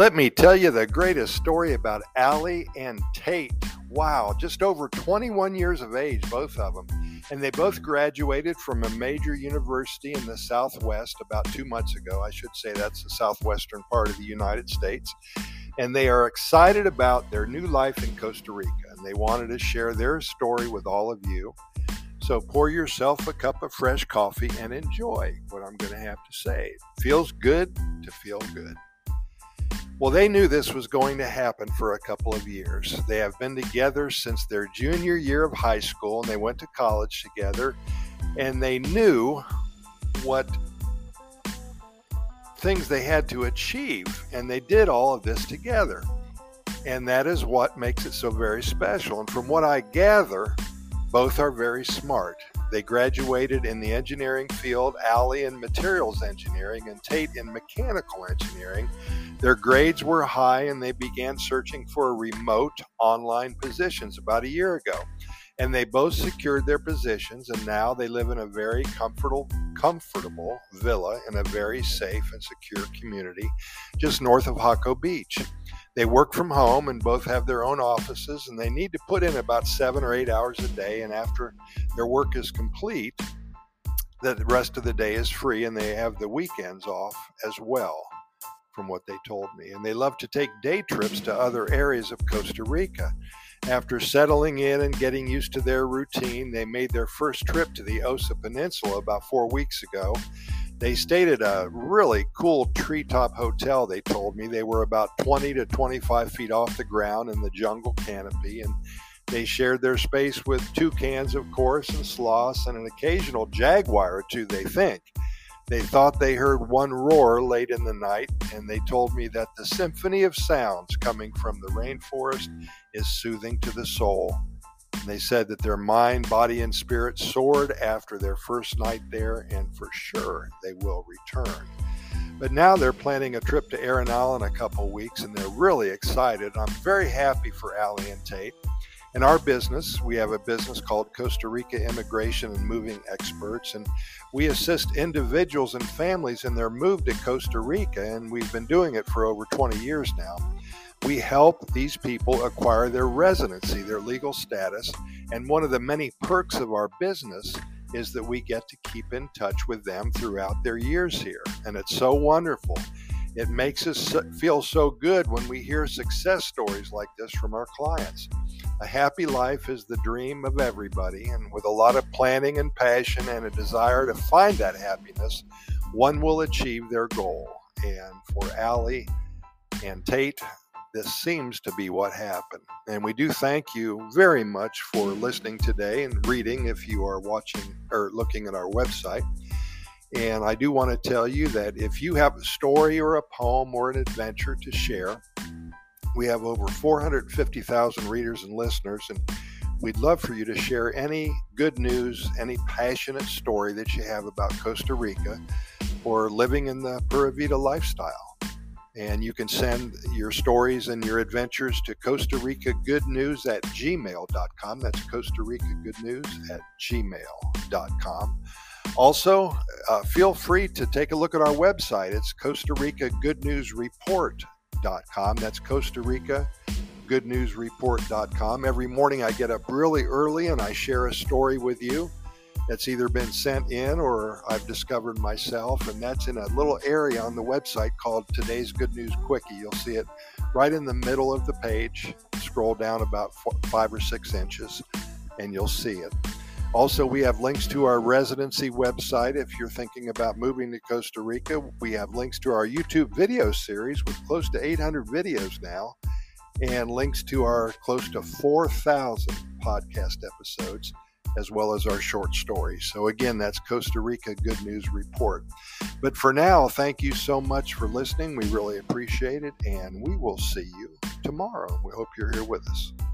Let me tell you the greatest story about Allie and Tate. Wow, just over 21 years of age, both of them. And they both graduated from a major university in the Southwest about 2 months ago. I should say that's the southwestern part of the United States. And they are excited about their new life in Costa Rica. And they wanted to share their story with all of you. So pour yourself a cup of fresh coffee and enjoy what I'm going to have to say. It feels good to feel good. Well, they knew this was going to happen for a couple of years. They have been together since their junior year of high school, and they went to college together, and they knew what things they had to achieve, and they did all of this together. And that is what makes it so very special. And from what I gather, both are very smart. They graduated in the engineering field, Allie in materials engineering and Tate in mechanical engineering. Their grades were high and they began searching for remote online positions about a year ago. And they both secured their positions, and now they live in a very comfortable villa in a very safe and secure community just north of Jaco Beach. They work from home and both have their own offices, and they need to put in about 7 or 8 hours a day. And after their work is complete, the rest of the day is free, and they have the weekends off as well, from what they told me. And they love to take day trips to other areas of Costa Rica. After settling in and getting used to their routine, they made their first trip to the Osa Peninsula about 4 weeks ago. They stayed at a really cool treetop hotel, they told me. They were about 20 to 25 feet off the ground in the jungle canopy, and they shared their space with toucans, of course, and sloths, and an occasional jaguar or two, they think. They thought they heard one roar late in the night, and they told me that the symphony of sounds coming from the rainforest is soothing to the soul. And they said that their mind, body, and spirit soared after their first night there, and for sure they will return. But now they're planning a trip to Arenal in a couple weeks, and they're really excited. I'm very happy for Allie and Tate. In our business, we have a business called Costa Rica Immigration and Moving Experts, and we assist individuals and families in their move to Costa Rica, and we've been doing it for over 20 years now. We help these people acquire their residency, their legal status, and one of the many perks of our business is that we get to keep in touch with them throughout their years here, and it's so wonderful. It makes us feel so good when we hear success stories like this from our clients. A happy life is the dream of everybody, and with a lot of planning and passion and a desire to find that happiness, one will achieve their goal. And for Allie and Tate, this seems to be what happened. And we do thank you very much for listening today and reading if you are watching or looking at our website. And I do want to tell you that if you have a story or a poem or an adventure to share, we have over 450,000 readers and listeners, and we'd love for you to share any good news, any passionate story that you have about Costa Rica or living in the Pura Vida lifestyle. And you can send your stories and your adventures to Costa Rica Good News at gmail.com. That's Costa Rica Good News at gmail.com. Also, feel free to take a look at our website. It's Costa Rica Good News Report.com. That's Costa Rica Good News Report.com. Every morning I get up really early and I share a story with you that's either been sent in or I've discovered myself, and that's in a little area on the website called Today's Good News Quickie. You'll see it right in the middle of the page. Scroll down about 5 or 6 inches and you'll see it. Also, we have links to our residency website. If you're thinking about moving to Costa Rica, we have links to our YouTube video series with close to 800 videos now, and links to our close to 4,000 podcast episodes, as well as our short stories. So again, that's Costa Rica Good News Report. But for now, thank you so much for listening. We really appreciate it, and we will see you tomorrow. We hope you're here with us.